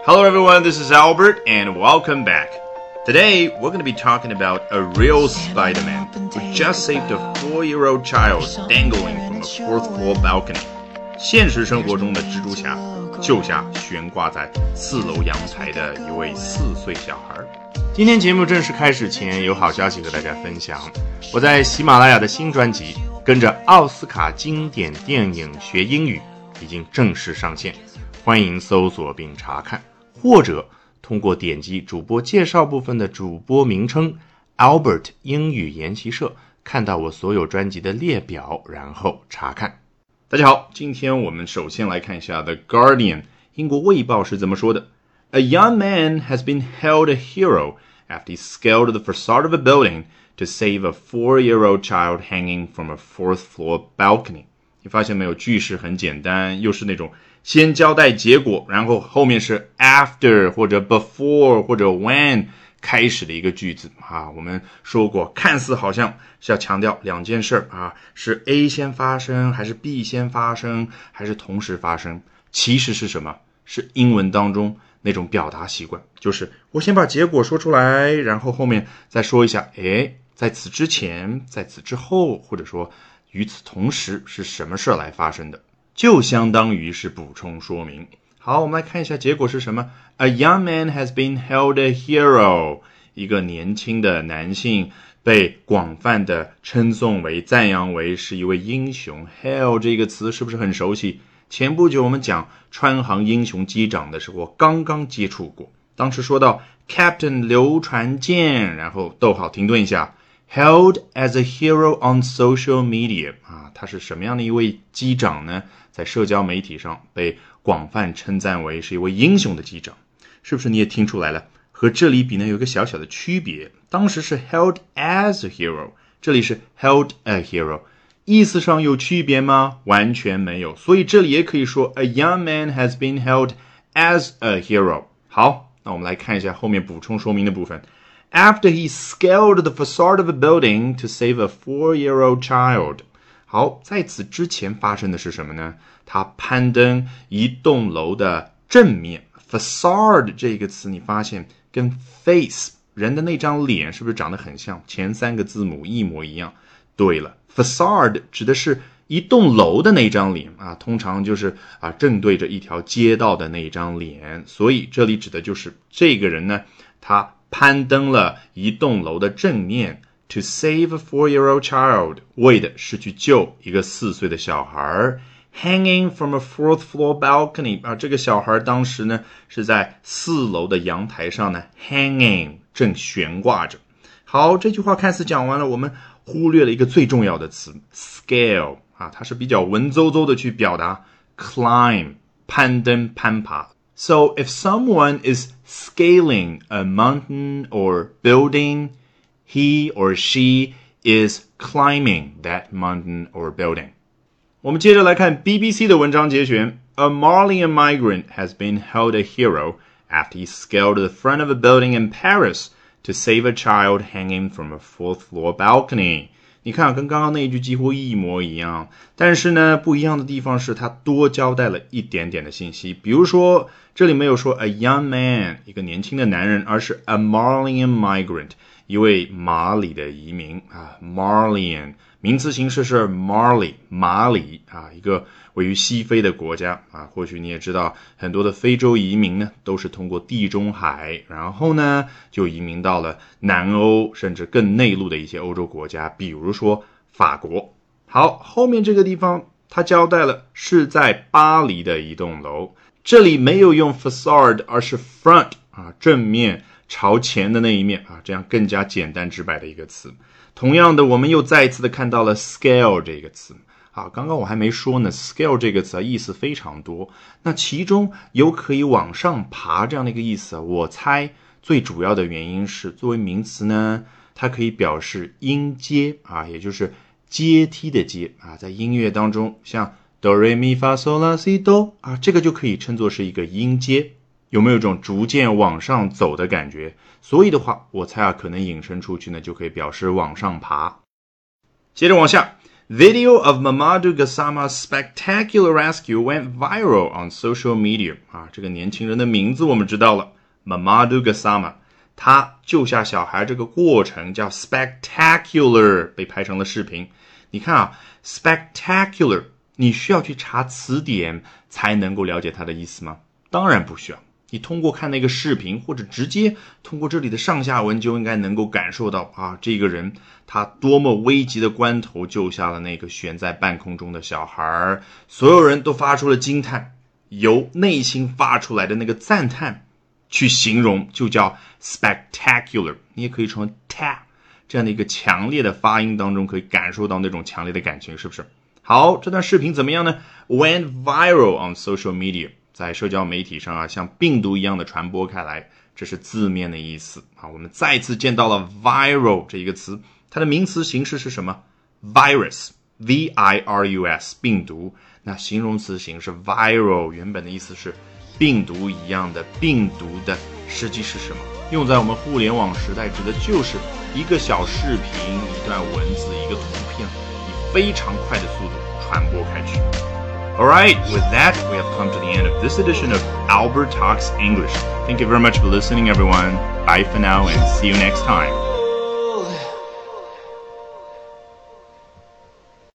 Hello everyone, this is Albert and welcome back. Today we're going to be talking about a real Spider-Man who just saved a 4-year-old child dangling from a 4th floor balcony. 现实生活中的蜘蛛侠救下悬挂在4楼阳台的一位4岁小孩。今天节目正式开始前，有好消息和大家分享。我在喜马拉雅的新专辑《跟着奥斯卡经典电影学英语》已经正式上线，欢迎搜索并查看，或者通过点击主播介绍部分的主播名称 Albert 英语研习社，看到我所有专辑的列表，然后查看。大家好，今天我们首先来看一下 The Guardian 英国卫报是怎么说的。A young man has been hailed a hero after he scaled the facade of a building to save a 4-year-old child hanging from a 4th floor balcony. 你发现没有，句式很简单，又是那种先交代结果，然后后面是 after 或者 before 或者 when 开始的一个句子啊。我们说过，看似好像是要强调两件事啊，是 A 先发生还是 B 先发生还是同时发生，其实是什么？是英文当中那种表达习惯，就是我先把结果说出来，然后后面再说一下，在此之前，在此之后，或者说与此同时是什么事来发生的，就相当于是补充说明。好，我们来看一下结果是什么。A young man has been hailed a hero. 一个年轻的男性被广泛的称颂为、赞扬为是一位英雄。Hail 这个词是不是很熟悉？前不久我们讲川航英雄机长的时候刚刚接触过，当时说到 Captain 刘传健，然后逗号停顿一下， Hailed as a hero on social media 他是什么样的一位机长呢？在社交媒体上被广泛称赞为是一位英雄的机长，是不是你也听出来了？和这里比呢有一个小小的区别，当时是 held as a hero， 这里是 held a hero， 意思上有区别吗？完全没有，所以这里也可以说 a young man has been held as a hero。 好，那我们来看一下后面补充说明的部分。After he scaled the facade of a building to save a 4-year-old child。好，在此之前发生的是什么呢？他攀登一栋楼的正面。 facade 这个词你发现跟 face 人的那张脸是不是长得很像？前3个字母一模一样。对了， facade 指的是一栋楼的那张脸通常就是正对着一条街道的那张脸，所以这里指的就是这个人呢，他攀登了一栋楼的正面To save a 4-year-old child， 为的是去救一个4岁的小孩。Hanging from a 4th floor balcony， 这个小孩当时呢是在4楼的阳台上呢 hanging 正悬挂着。好，这句话看似讲完了，我们忽略了一个最重要的词 scale， 它是比较文绉绉的去表达 climb 攀登攀爬。So if someone is scaling a mountain or building，He or she is climbing that mountain or building. 我们接着来看 BBC 的文章节选。A Malian migrant has been hailed a hero after he scaled the front of a building in Paris to save a child hanging from a 4th floor balcony. 你看跟刚刚那一句几乎一模一样，但是呢不一样的地方是他多交代了一点点的信息。比如说这里没有说 a young man 一个年轻的男人，而是 a Malian migrant一位马里的移民Malian 名词形式是 Mali 马里一个位于西非的国家或许你也知道很多的非洲移民呢都是通过地中海，然后呢就移民到了南欧甚至更内陆的一些欧洲国家，比如说法国。好，后面这个地方他交代了是在巴黎的一栋楼，这里没有用 facade 而是 front 正面朝前的那一面这样更加简单直白的一个词。同样的，我们又再一次的看到了 scale 这个词刚刚我还没说呢， scale 这个词意思非常多，那其中有可以往上爬这样的一个意思我猜最主要的原因是作为名词呢，它可以表示音阶也就是阶梯的阶在音乐当中像 do re mi fa sol la si do 这个就可以称作是一个音阶，有没有一种逐渐往上走的感觉？所以的话我猜可能引申出去呢就可以表示往上爬。接着往下 Video of Mamadou Gassama's spectacular rescue went viral on social media. 这个年轻人的名字我们知道了 Mamadou Gassama， 他救下小孩这个过程叫 spectacular， 被拍成了视频。你看spectacular， 你需要去查词典才能够了解它的意思吗？当然不需要。你通过看那个视频，或者直接通过这里的上下文，就应该能够感受到这个人他多么危急的关头救下了那个悬在半空中的小孩，所有人都发出了惊叹，由内心发出来的那个赞叹去形容就叫 spectacular， 你也可以从 ta 这样的一个强烈的发音当中可以感受到那种强烈的感情，是不是？好，这段视频怎么样呢？ Went viral on social media，在社交媒体上像病毒一样的传播开来，这是字面的意思我们再次见到了 viral 这一个词，它的名词形式是什么？ virus V-I-R-U-S 病毒，那形容词形式 viral 原本的意思是病毒一样的，病毒的实际是什么？用在我们互联网时代指的就是一个小视频，一段文字，一个图片，以非常快的速度传播开去。Alright, with that, we have come to the end of this edition of Albert Talks English. Thank you very much for listening, everyone. Bye for now and see you next time.